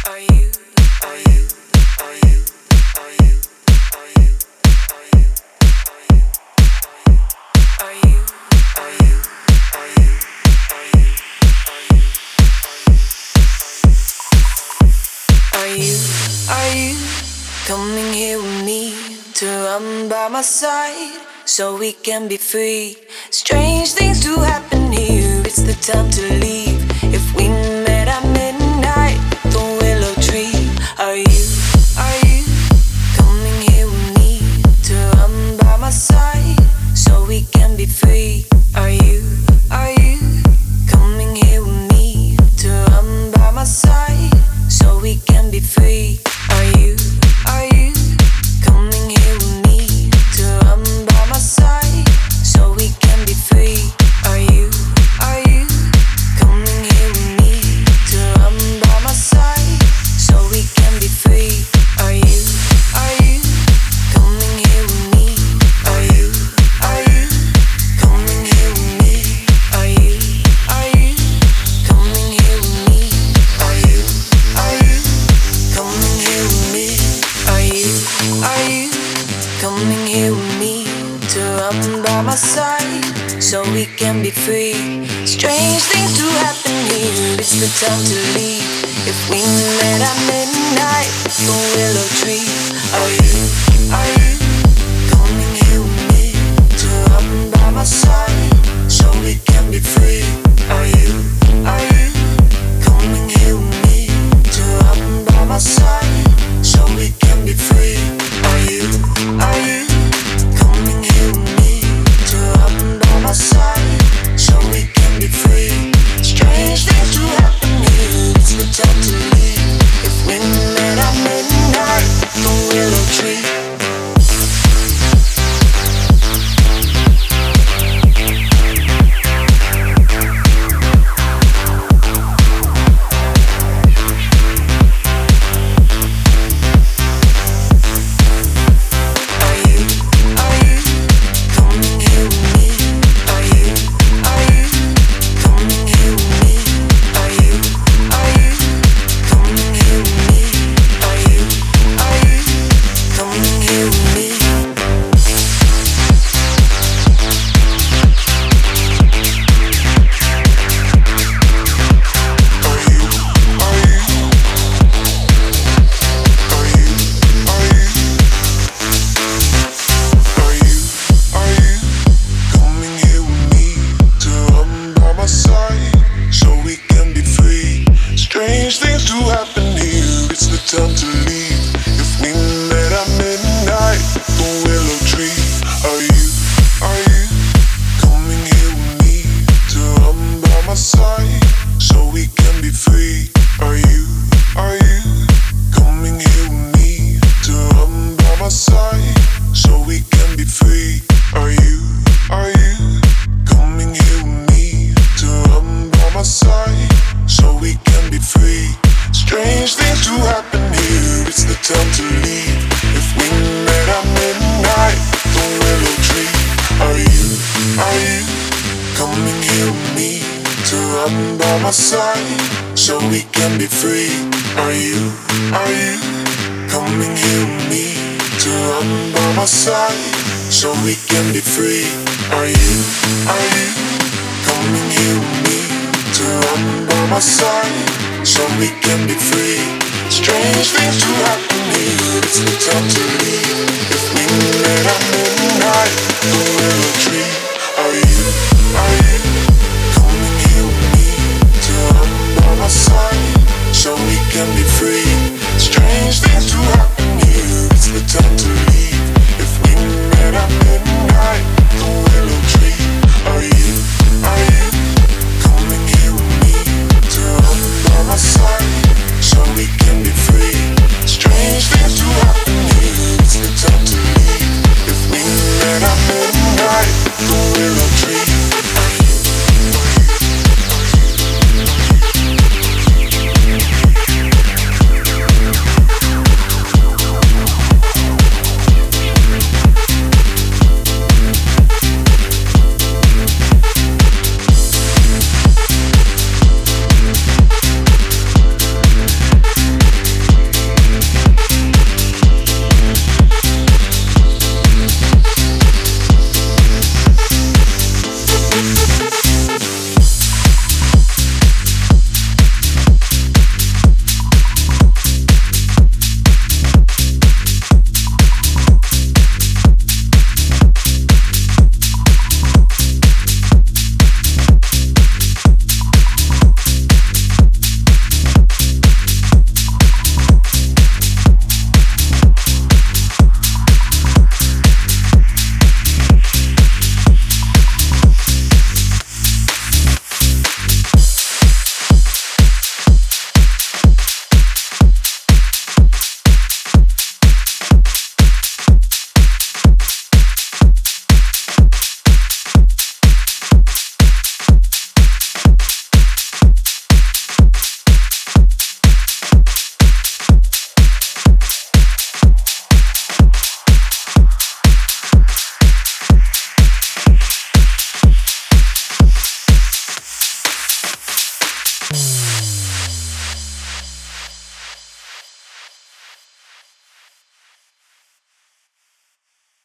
Coming here with me to run by my side so we can be free. Strange things do happen here, it's the time to leave. If we met at midnight, the willow tree. Are you coming here with me to run by my side so we can be free? Are you coming here with me to run by my side so we can be free? Are you coming here with me to run by my side so we can be free? Are you coming here with me to run by my side so we can be free? Are you coming here with me? Are you coming here with me? Are you coming here with me? Are you coming here with me? Are you coming here with me to run by my side so we can be free? Strange things do happen here, it's the time to leave. If we met at midnight, the willow tree. Are you coming here with me to run by my side so we can be free? Are you coming here with me to run by my side so we can be free? Are you coming here with me to run by my side so we can be free? Strange things do happen here, it's the time to leave. If we met at midnight, the willow tree. So we can be free. Strange things do happen here, it's the time to leave.